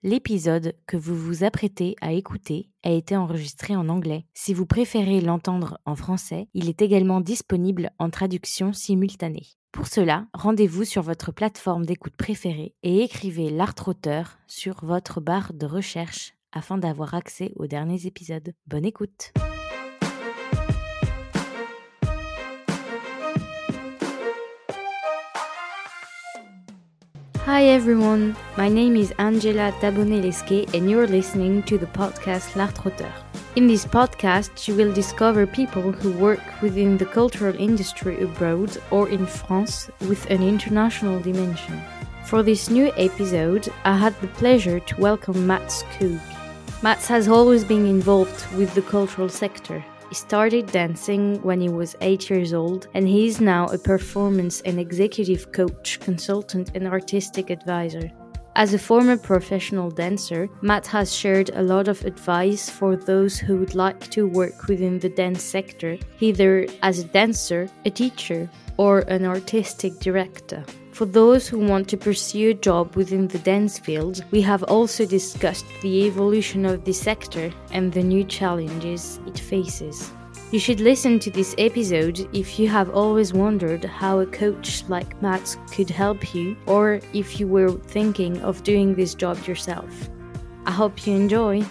L'épisode que vous vous apprêtez à écouter a été enregistré en anglais. Si vous préférez l'entendre en français, il est également disponible en traduction simultanée. Pour cela, rendez-vous sur votre plateforme d'écoute préférée et écrivez l'art-auteur sur votre barre de recherche afin d'avoir accès aux derniers épisodes. Bonne écoute! Hi everyone, my name is Angela Taboneleske and you're listening to the podcast L'Art-auteur. In this podcast, you will discover people who work within the cultural industry abroad or in France with an international dimension. For this new episode, I had the pleasure to welcome Mats Koog. Mats has always been involved with the cultural sector. He started dancing when he was 8 years old, and he is now a performance and executive coach, consultant, and artistic advisor. As a former professional dancer, Matt has shared a lot of advice for those who would like to work within the dance sector, either as a dancer, a teacher, or an artistic director. For those who want to pursue a job within the dance field, we have also discussed the evolution of the sector and the new challenges it faces. You should listen to this episode if you have always wondered how a coach like Matt could help you, or if you were thinking of doing this job yourself. I hope you enjoy.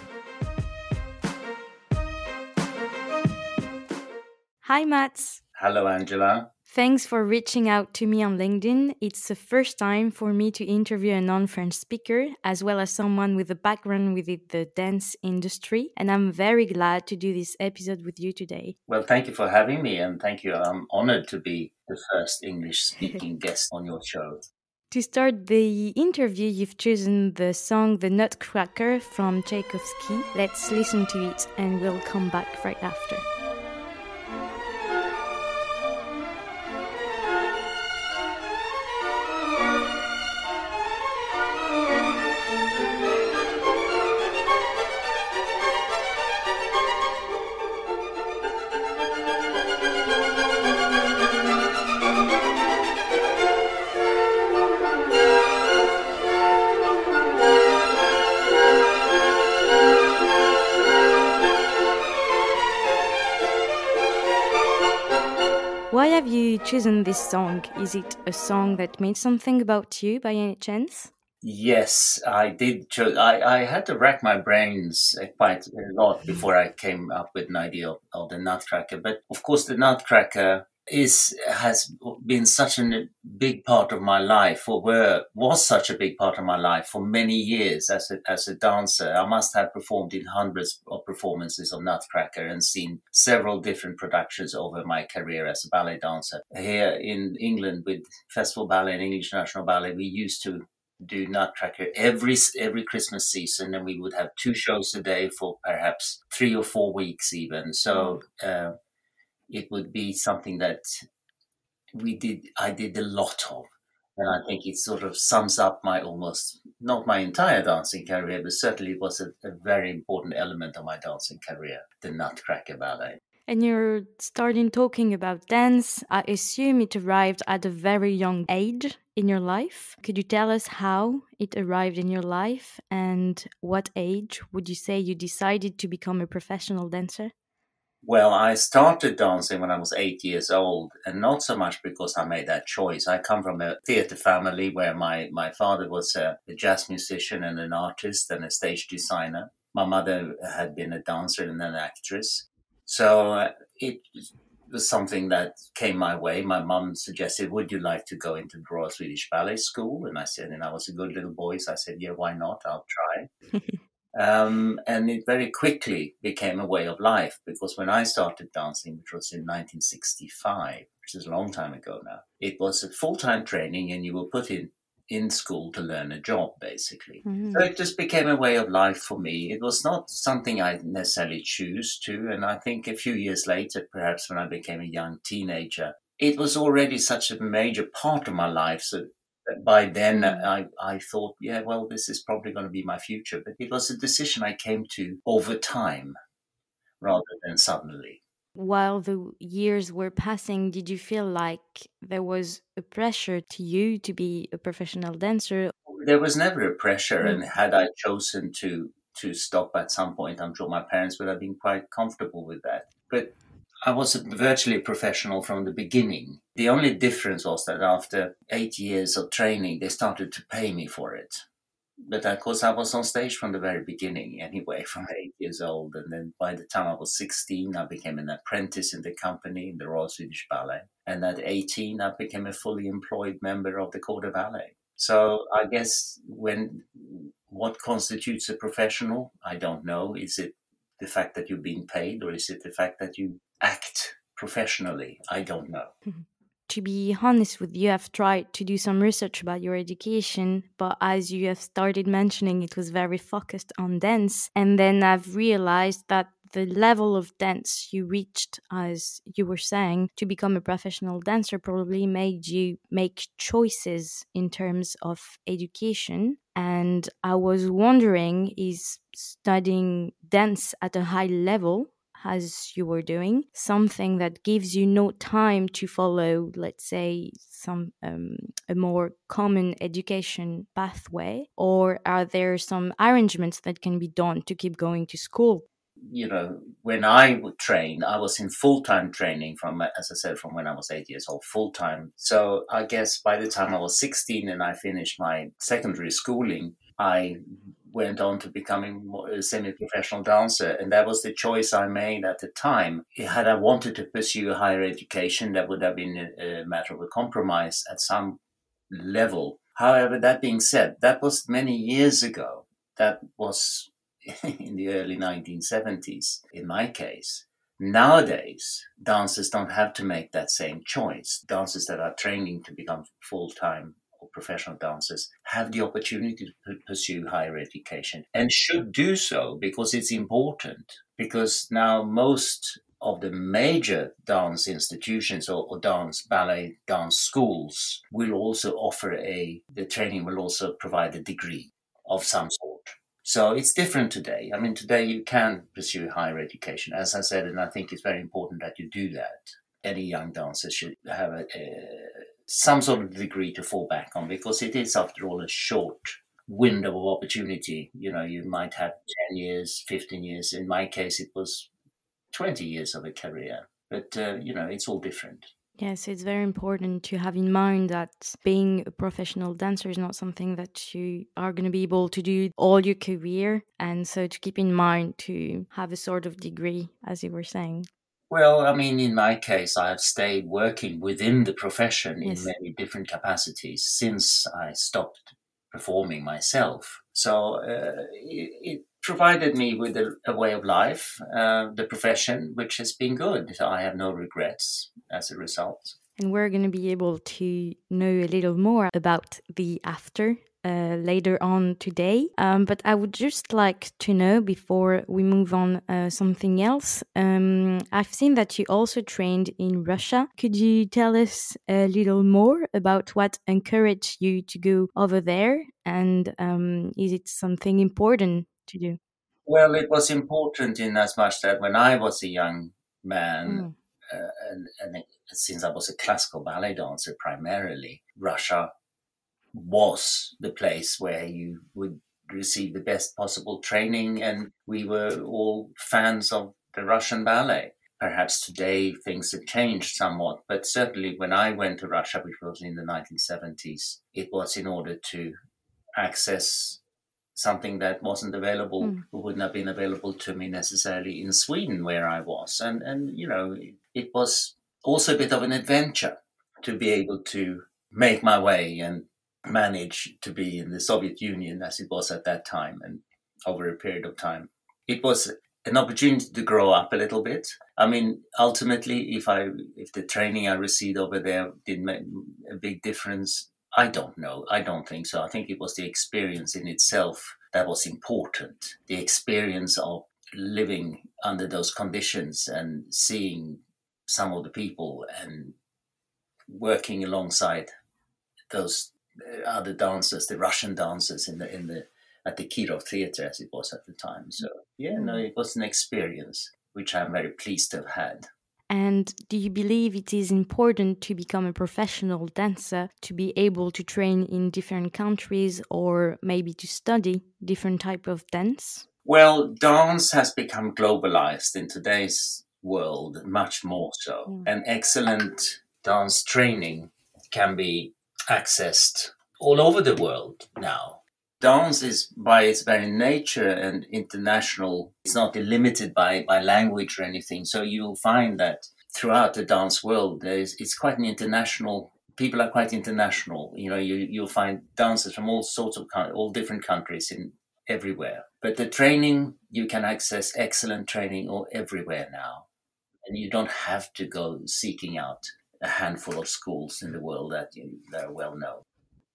Hi, Mats. Hello, Angela. Thanks for reaching out to me on LinkedIn. It's the first time for me to interview a non-French speaker, as well as someone with a background within the dance industry. And I'm very glad to do this episode with you today. Well, thank you for having me, and thank you. I'm honored to be the first English-speaking guest on your show. To start the interview, you've chosen the song The Nutcracker from Tchaikovsky. Let's listen to it and we'll come back right after. Why have you chosen this song? Is it a song that made something about you by any chance? Yes, I did. I had to rack my brains quite a lot before I came up with an idea of the Nutcracker. But of course, the Nutcracker has been such a big part of my life, was such a big part of my life for many years as a dancer. I must have performed in hundreds of performances of Nutcracker and seen several different productions over my career as a ballet dancer. Here in England with Festival Ballet and English National Ballet, we used to do Nutcracker every Christmas season, and we would have 2 shows a day for perhaps 3 or 4 weeks even. So it would be something that I did a lot of. And I think it sort of sums up not my entire dancing career, but certainly it was a very important element of my dancing career, the Nutcracker Ballet. And you're starting talking about dance. I assume it arrived at a very young age in your life. Could you tell us how it arrived in your life and what age would you say you decided to become a professional dancer? Well, I started dancing when I was 8 years old, and not so much because I made that choice. I come from a theatre family where my father was a jazz musician and an artist and a stage designer. My mother had been a dancer and an actress. So it was something that came my way. My mum suggested, would you like to go into the Royal Swedish Ballet School? And I said, and I was a good little boy, so I said, yeah, why not? I'll try. And it very quickly became a way of life, because when I started dancing, which was in 1965, which is a long time ago now, it was a full-time training and you were put in school to learn a job, basically. Mm-hmm. So it just became a way of life for me. It was not something I necessarily choose to. And I think a few years later, perhaps when I became a young teenager, it was already such a major part of my life. So by then, I thought, yeah, well, this is probably going to be my future. But it was a decision I came to over time rather than suddenly. While the years were passing, did you feel like there was a pressure to you to be a professional dancer? there was never a pressure, and Mm. had I chosen to stop at some point, I'm sure my parents would have been quite comfortable with that. But I was virtually a professional from the beginning. The only difference was that after 8 years of training, they started to pay me for it. But of course, I was on stage from the very beginning anyway, from 8 years old. And then by the time I was 16, I became an apprentice in the company, in the Royal Swedish Ballet. And at 18, I became a fully employed member of the Corps de Ballet. So I guess what constitutes a professional, I don't know. Is it the fact that you're being paid, or is it the fact that you act professionally? I don't know. To be honest with you, I've tried to do some research about your education, but as you have started mentioning, it was very focused on dance. And then I've realized that the level of dance you reached, as you were saying, to become a professional dancer probably made you make choices in terms of education. And I was wondering, is studying dance at a high level, as you were doing, something that gives you no time to follow, let's say, some a more common education pathway, or are there some arrangements that can be done to keep going to school? When I would train, I was in full-time training from, as I said, from when I was 8 years old, full-time. So I guess by the time I was 16 and I finished my secondary schooling, I went on to becoming a semi-professional dancer. And that was the choice I made at the time. Had I wanted to pursue higher education, that would have been a matter of a compromise at some level. However, that being said, that was many years ago. That was in the early 1970s, in my case. Nowadays, dancers don't have to make that same choice. Dancers that are training to become full-time or professional dancers have the opportunity to pursue higher education and should do so because it's important. Because now most of the major dance institutions or dance, ballet, dance schools will also offer the training will also provide a degree of some sort. So it's different today. I mean, today you can pursue higher education, as I said, and I think it's very important that you do that. Any young dancer should have some sort of degree to fall back on because it is, after all, a short window of opportunity. You might have 10 years, 15 years. In my case, it was 20 years of a career. But, it's all different. Yes, it's very important to have in mind that being a professional dancer is not something that you are going to be able to do all your career. And so to keep in mind to have a sort of degree, as you were saying. Well, I mean, in my case, I have stayed working within the profession in Yes. many different capacities since I stopped performing myself. So it provided me with a way of life, the profession, which has been good. I have no regrets as a result. And we're going to be able to know a little more about the after later on today. But I would just like to know, before we move on, something else. I've seen that you also trained in Russia. Could you tell us a little more about what encouraged you to go over there? And is it something important to do? Well, it was important in as much that when I was a young man, Mm. and since I was a classical ballet dancer primarily, Russia was the place where you would receive the best possible training, and we were all fans of the Russian ballet. Perhaps today things have changed somewhat, but certainly when I went to Russia, which was in the 1970s, it was in order to access something that wasn't available, wouldn't have been available to me necessarily in Sweden, where I was. And it was also a bit of an adventure to be able to make my way and manage to be in the Soviet Union as it was at that time and over a period of time. It was an opportunity to grow up a little bit. I mean, ultimately, if the training I received over there did make a big difference, I don't know. I don't think so. I think it was the experience in itself that was important. The experience of living under those conditions and seeing some of the people and working alongside those other dancers, the Russian dancers at the Kirov Theatre as it was at the time. So yeah, no, it was an experience which I'm very pleased to have had. And do you believe it is important to become a professional dancer to be able to train in different countries or maybe to study different type of dance? Well, dance has become globalized in today's world, much more so. Mm. And excellent dance training can be accessed all over the world now. Dance is, by its very nature, and international. It's not limited by language or anything. So you'll find that throughout the dance world, it's quite an international. People are quite international. You'll find dancers from all sorts of all different countries in everywhere. But the training, you can access excellent training all everywhere now, and you don't have to go seeking out a handful of schools in the world that are well known.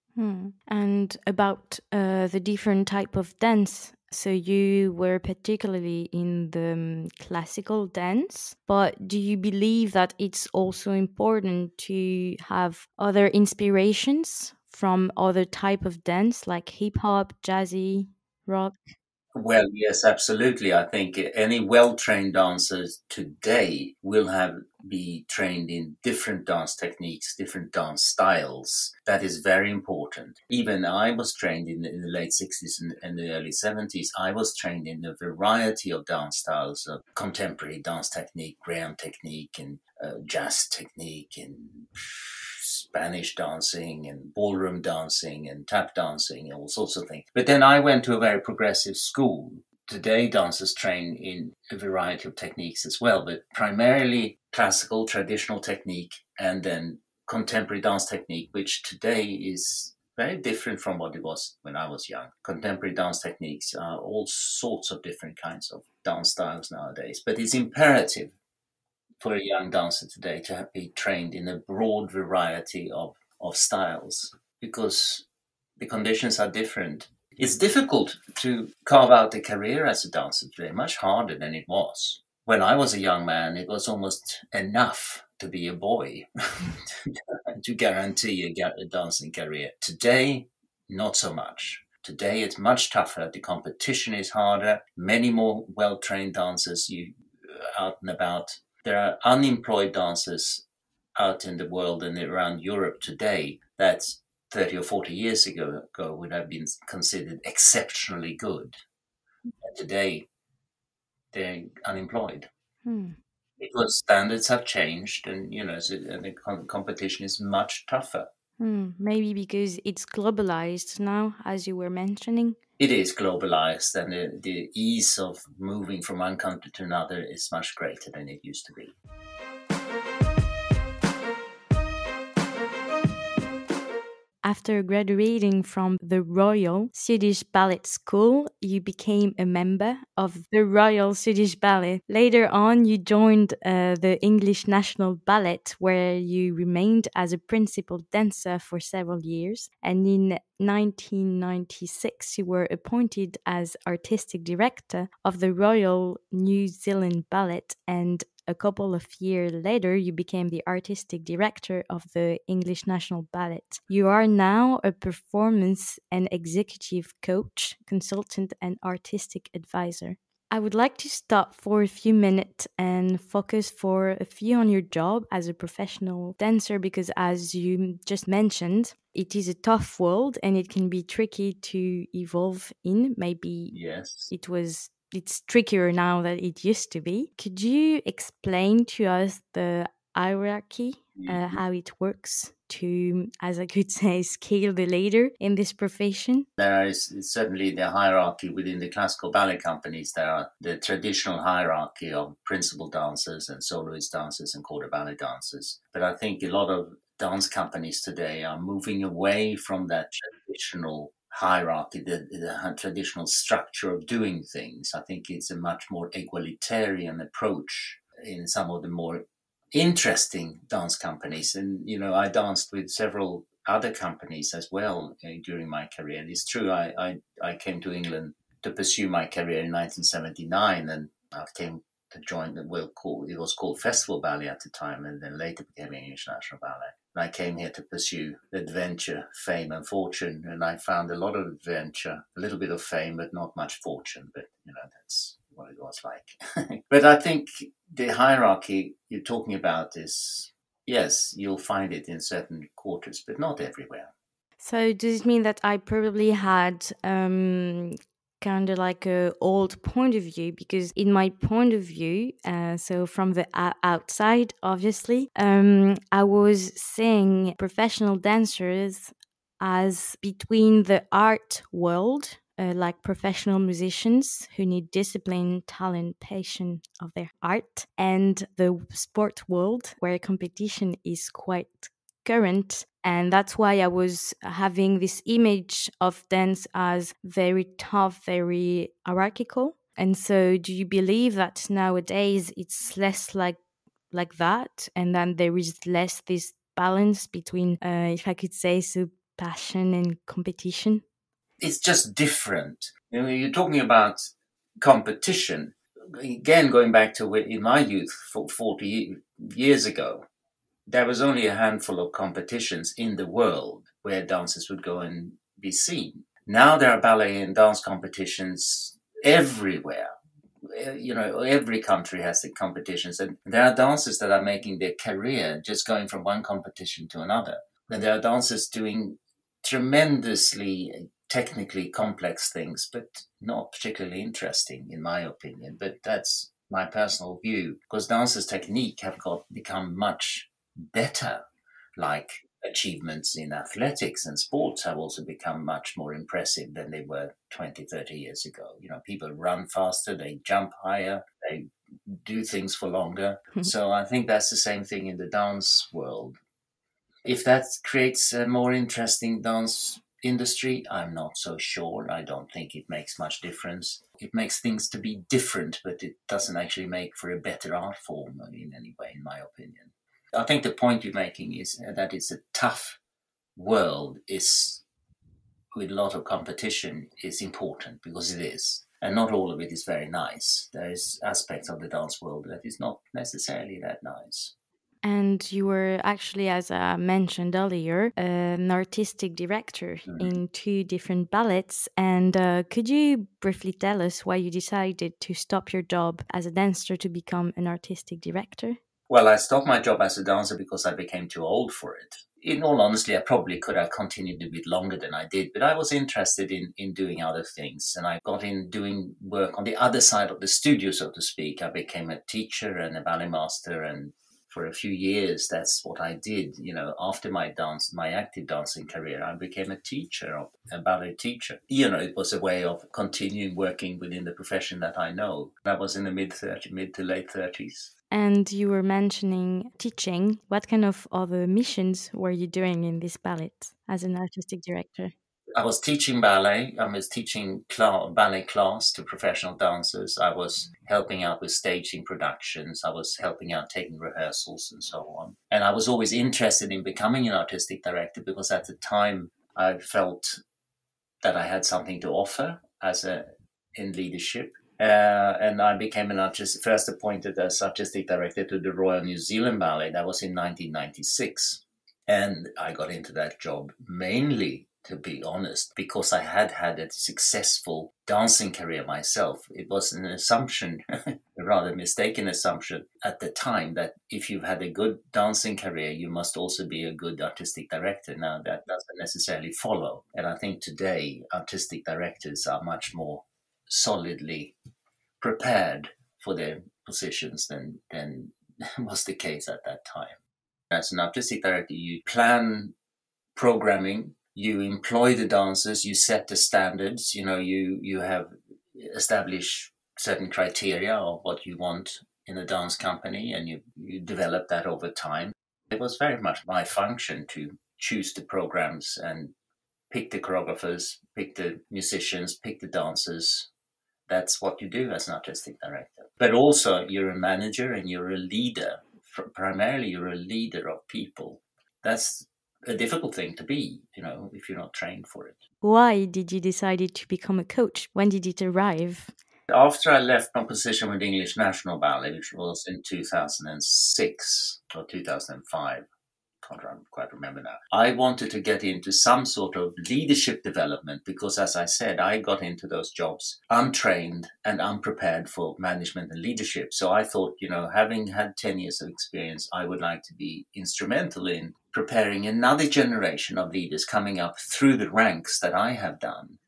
And about the different type of dance. So you were particularly in the classical dance, but do you believe that it's also important to have other inspirations from other type of dance like hip hop, jazzy, rock? Well, yes, absolutely. I think any well-trained dancers today will be trained in different dance techniques, different dance styles. That is very important. Even I was trained in the late 60s and the early 70s. I was trained in a variety of dance styles, of contemporary dance technique, Graham technique, and jazz technique, and Spanish dancing and ballroom dancing and tap dancing and all sorts of things. But then I went to a very progressive school. Today, dancers train in a variety of techniques as well, but primarily classical, traditional technique, and then contemporary dance technique, which today is very different from what it was when I was young. Contemporary dance techniques are all sorts of different kinds of dance styles nowadays, but it's imperative for a young dancer today to be trained in a broad variety of styles because the conditions are different. It's difficult to carve out a career as a dancer today, much harder than it was. When I was a young man, it was almost enough to be a boy to guarantee a dancing career. Today, not so much. Today, it's much tougher. The competition is harder. Many more well-trained dancers out and about. There are unemployed dancers out in the world and around Europe today that 30 or 40 years ago would have been considered exceptionally good. And today, they're unemployed because standards have changed, and and the competition is much tougher. Maybe because it's globalized now, as you were mentioning. It is globalized, and the ease of moving from one country to another is much greater than it used to be. After graduating from the Royal Swedish Ballet School, you became a member of the Royal Swedish Ballet. Later on, you joined the English National Ballet, where you remained as a principal dancer for several years. And in 1996, you were appointed as artistic director of the Royal New Zealand Ballet, and a couple of years later, you became the artistic director of the English National Ballet. You are now a performance and executive coach, consultant, and artistic advisor. I would like to stop for a few minutes and focus for a few on your job as a professional dancer because, as you just mentioned, it is a tough world and it can be tricky to evolve in. Maybe Yes. it's trickier now than it used to be. Could you explain to us the hierarchy, how it works to, as I could say, scale the ladder in this profession? There is certainly the hierarchy within the classical ballet companies. There are the traditional hierarchy of principal dancers and soloist dancers and quarter ballet dancers. But I think a lot of dance companies today are moving away from that traditional hierarchy, the traditional structure of doing things. I think it's a much more egalitarian approach in some of the more interesting dance companies. And, I danced with several other companies as well during my career. And it's true, I came to England to pursue my career in 1979, and I came to join it was called Festival Ballet at the time, and then later became English National Ballet. And I came here to pursue adventure, fame, and fortune, and I found a lot of adventure, a little bit of fame, but not much fortune. But that's what it was like. But I think the hierarchy you're talking about is, yes, you'll find it in certain quarters, but not everywhere. So does it mean that I probably had kind of like a old point of view? Because in my point of view, so from the outside, obviously, I was seeing professional dancers as between the art world, like professional musicians who need discipline, talent, passion of their art, and the sport world where competition is quite current. And that's why I was having this image of dance as very tough, very hierarchical. And so, do you believe that nowadays it's less like that, and then there is less this balance between, if I could say so, passion and competition? It's just different. You know, you're talking about competition. Again, going back to in my youth, 40 years ago, there was only a handful of competitions in the world where dancers would go and be seen. Now there are ballet and dance competitions everywhere. You know, every country has the competitions, and there are dancers that are making their career just going from one competition to another. And there are dancers doing tremendously technically complex things, but not particularly interesting, in my opinion. But that's my personal view, because dancers' technique have become much better. Like achievements in athletics and sports have also become much more impressive than they were 20, 30 years ago. You know, people run faster, they jump higher, they do things for longer. So I think that's the same thing in the dance world. If that creates a more interesting dance industry, I'm not so sure. I don't think it makes much difference. It makes things to be different, but it doesn't actually make for a better art form in any way, in my opinion. I think the point you're making is that it's a tough world, is with a lot of competition, is important, because it is. And not all of it is very nice. There is aspects of the dance world that is not necessarily that nice. And you were actually, as I mentioned earlier, an artistic director in 2 different ballets. And could you briefly tell us why you decided to stop your job as a dancer to become an artistic director? Well, I stopped my job as a dancer because I became too old for it. In all honesty, I probably could have continued a bit longer than I did, but I was interested in doing other things. And I got in doing work on the other side of the studio, so to speak. I became a teacher and a ballet master, and for a few years, that's what I did. You know, after my active dancing career, I became a teacher, a ballet teacher. You know, it was a way of continuing working within the profession that I know. That was in the mid to late 30s. And you were mentioning teaching. What kind of other missions were you doing in this ballet as an artistic director? I was teaching ballet. I was teaching ballet class to professional dancers. I was helping out with staging productions. I was helping out taking rehearsals and so on. And I was always interested in becoming an artistic director, because at the time I felt that I had something to offer in leadership. And I became first appointed as artistic director to the Royal New Zealand Ballet. That was in 1996. And I got into that job mainly, to be honest, because I had had a successful dancing career myself. It was an assumption, a rather mistaken assumption at the time, that if you've had a good dancing career, you must also be a good artistic director. Now, that doesn't necessarily follow. And I think today, artistic directors are much more solidly prepared for their positions than was the case at that time. As an artistic director, you plan programming, you employ the dancers, you set the standards, you have established certain criteria of what you want in a dance company, and you develop that over time. It was very much my function to choose the programs and pick the choreographers, pick the musicians, pick the dancers. That's what you do as an artistic director. But also, you're a manager and you're a leader. Primarily, you're a leader of people. That's a difficult thing to be, if you're not trained for it. Why did you decide to become a coach? When did it arrive? After I left my position with the English National Ballet, which was in 2006 or 2005, can't quite remember now. I wanted to get into some sort of leadership development because, as I said, I got into those jobs untrained and unprepared for management and leadership. So I thought, having had 10 years of experience, I would like to be instrumental in preparing another generation of leaders coming up through the ranks that I had done,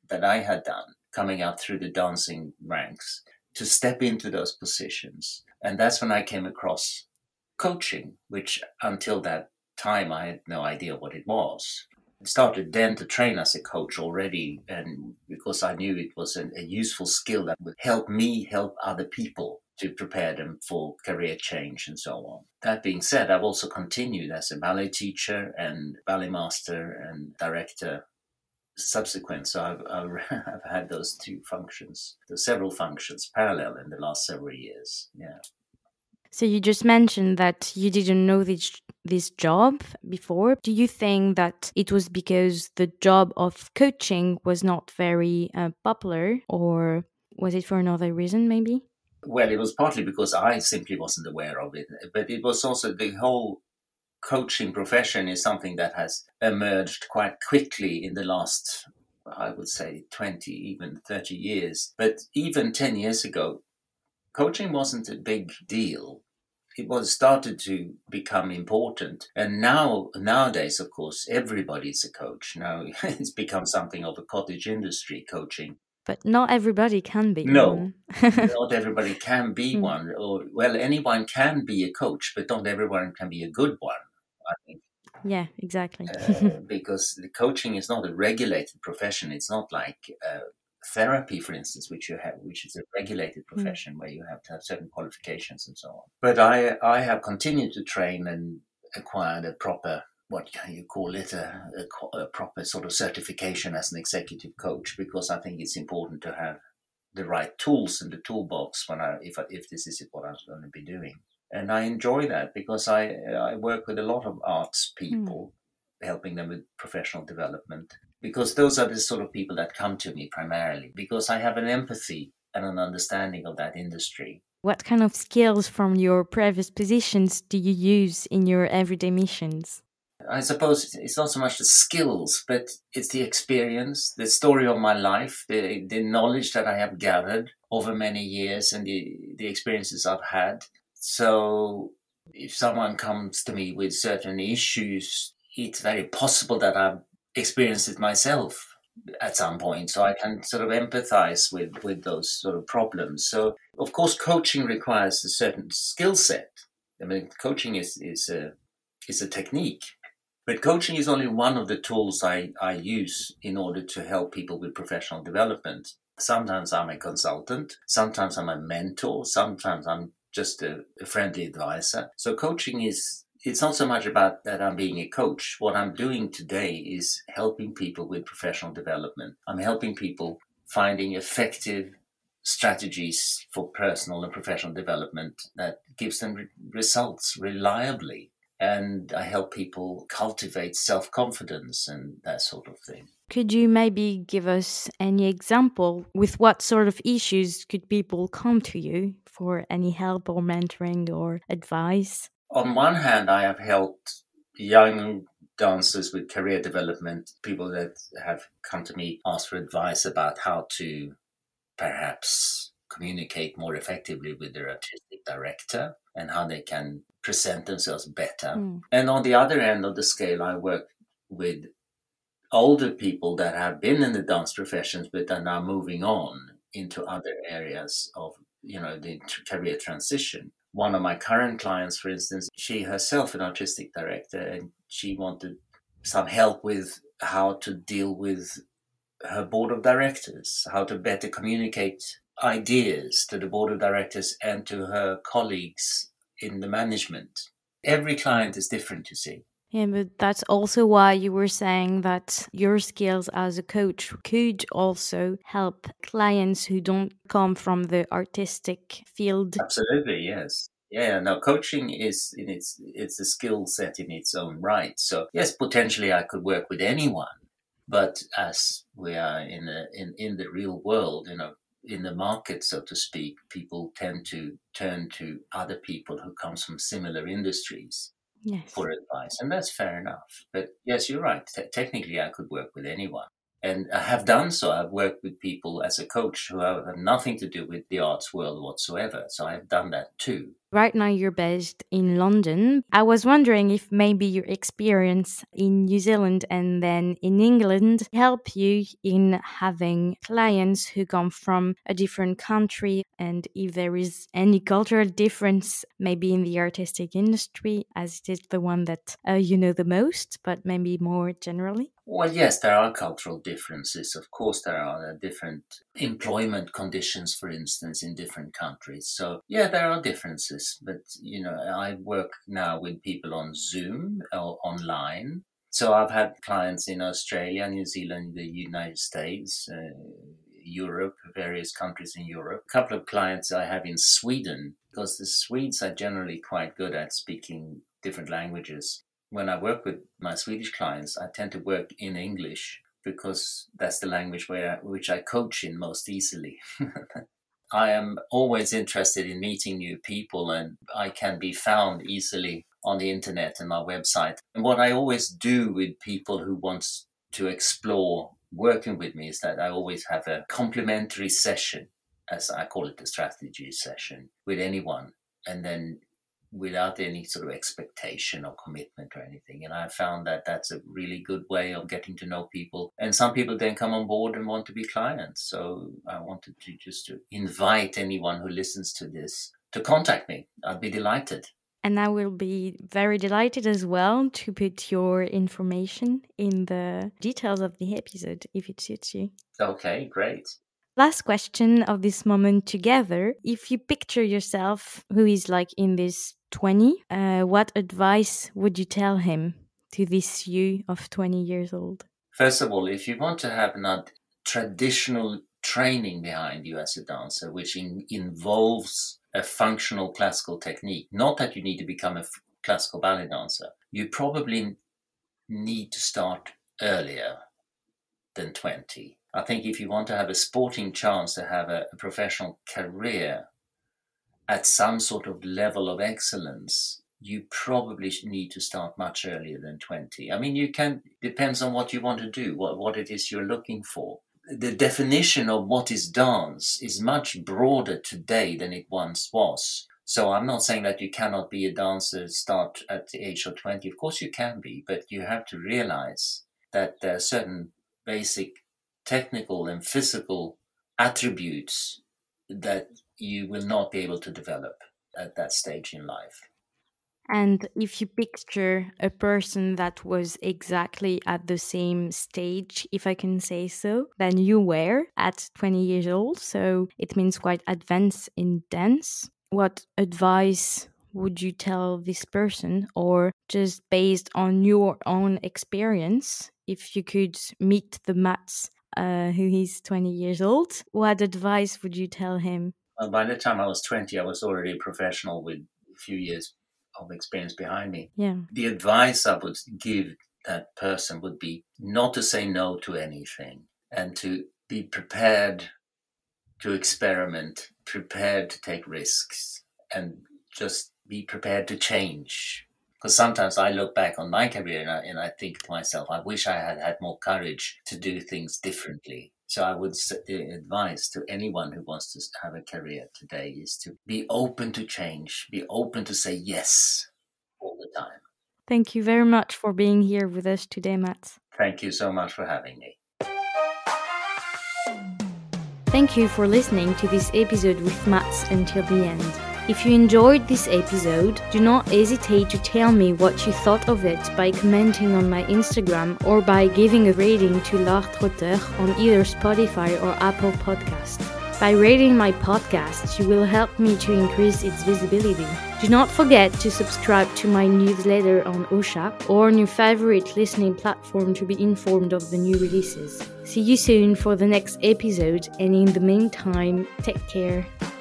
coming up through the dancing ranks, to step into those positions. And that's when I came across coaching, which until that time I had no idea what it was. I started then to train as a coach already, and because I knew it was a useful skill that would help me help other people to prepare them for career change and so on. That being said, I've also continued as a ballet teacher and ballet master and director subsequent. So I've had those two functions, several functions parallel in the last several years. Yeah. So you just mentioned that you didn't know this job before. Do you think that it was because the job of coaching was not very popular, or was it for another reason maybe? Well, it was partly because I simply wasn't aware of it, but it was also the whole coaching profession is something that has emerged quite quickly in the last, I would say, 20, even 30 years. But even 10 years ago, coaching wasn't a big deal. It was started to become important. And nowadays, of course, everybody's a coach. Now it's become something of a cottage industry, coaching. But not everybody can be No, one. not everybody can be one. Or, well, anyone can be a coach, but not everyone can be a good one, I think. Yeah, exactly. Because the coaching is not a regulated profession. It's not like therapy, for instance, which is a regulated profession where you have to have certain qualifications and so on. But I have continued to train and acquired a proper, what can you call it, a proper sort of certification as an executive coach, because I think it's important to have the right tools in the toolbox if this is what I'm going to be doing. And I enjoy that because I work with a lot of arts people, helping them with professional development, because those are the sort of people that come to me primarily, because I have an empathy and an understanding of that industry. What kind of skills from your previous positions do you use in your everyday missions? I suppose it's not so much the skills, but it's the experience, the story of my life, the knowledge that I have gathered over many years and the experiences I've had. So if someone comes to me with certain issues, it's very possible that I've experienced it myself at some point. So I can sort of empathize with those sort of problems. So, of course, coaching requires a certain skill set. I mean, coaching is a technique. But coaching is only one of the tools I use in order to help people with professional development. Sometimes I'm a consultant, sometimes I'm a mentor, sometimes I'm just a friendly advisor. So coaching it's not so much about that I'm being a coach. What I'm doing today is helping people with professional development. I'm helping people finding effective strategies for personal and professional development that gives them results reliably. And I help people cultivate self-confidence and that sort of thing. Could you maybe give us any example? With what sort of issues could people come to you for any help or mentoring or advice? On one hand, I have helped young dancers with career development, people that have come to me, ask for advice about how to perhaps communicate more effectively with their artistic director and how they can present themselves better. And on the other end of the scale, I work with older people that have been in the dance professions but are now moving on into other areas of the career transition. One of my current clients, for instance, she herself an artistic director, and she wanted some help with how to deal with her board of directors, how to better communicate ideas to the board of directors and to her colleagues in the management. Every client is different, you see. Yeah, but that's also why you were saying that your skills as a coach could also help clients who don't come from the artistic field. Absolutely, yes. Yeah, no, coaching is it's a skill set in its own right. So yes, potentially I could work with anyone, but as we are in the real world, in the market, so to speak, people tend to turn to other people who comes from similar industries. Yes. for advice, and that's fair enough. But yes, you're right. Technically, I could work with anyone. And I have done so. I've worked with people as a coach who have nothing to do with the arts world whatsoever. So I've done that too. Right now, you're based in London. I was wondering if maybe your experience in New Zealand and then in England help you in having clients who come from a different country, and if there is any cultural difference, maybe in the artistic industry, as it is the one that you know the most, but maybe more generally. Well, yes, there are cultural differences. Of course, there are different employment conditions, for instance, in different countries. So, yeah, there are differences. But, I work now with people on Zoom or online. So I've had clients in Australia, New Zealand, the United States, Europe, various countries in Europe. A couple of clients I have in Sweden, because the Swedes are generally quite good at speaking different languages. When I work with my Swedish clients, I tend to work in English because that's the language which I coach in most easily. I am always interested in meeting new people, and I can be found easily on the internet and my website. And what I always do with people who want to explore working with me is that I always have a complimentary session, as I call it, the strategy session, with anyone. And then without any sort of expectation or commitment or anything. And I found that that's a really good way of getting to know people. And some people then come on board and want to be clients. So I wanted to invite anyone who listens to this to contact me. I'd be delighted. And I will be very delighted as well to put your information in the details of the episode if it suits you. Okay, great. Last question of this moment together. If you picture yourself who is like in this 20, what advice would you tell him to this you of 20 years old? First of all, if you want to have not traditional training behind you as a dancer, which involves a functional classical technique, not that you need to become a classical ballet dancer, you probably need to start earlier than 20. I think if you want to have a sporting chance to have a professional career at some sort of level of excellence, you probably need to start much earlier than 20. I mean, depends on what you want to do, what it is you're looking for. The definition of what is dance is much broader today than it once was. So I'm not saying that you cannot be a dancer, start at the age of 20. Of course you can be, but you have to realize that there are certain basic technical and physical attributes that you will not be able to develop at that stage in life. And if you picture a person that was exactly at the same stage, if I can say so, than you were at 20 years old, so it means quite advanced in dance, what advice would you tell this person? Or just based on your own experience, if you could meet the Mats who is 20 years old, what advice would you tell him? Well, by the time I was 20, I was already a professional with a few years of experience behind me. Yeah. The advice I would give that person would be not to say no to anything and to be prepared to experiment, prepared to take risks, and just be prepared to change. Because sometimes I look back on my career and I think to myself, I wish I had had more courage to do things differently. So I would say the advice to anyone who wants to have a career today is to be open to change, be open to say yes all the time. Thank you very much for being here with us today, Mats. Thank you so much for having me. Thank you for listening to this episode with Mats until the end. If you enjoyed this episode, do not hesitate to tell me what you thought of it by commenting on my Instagram or by giving a rating to L'Art Trotteur on either Spotify or Apple Podcasts. By rating my podcast, you will help me to increase its visibility. Do not forget to subscribe to my newsletter on Ocha or on your favorite listening platform to be informed of the new releases. See you soon for the next episode, and in the meantime, take care.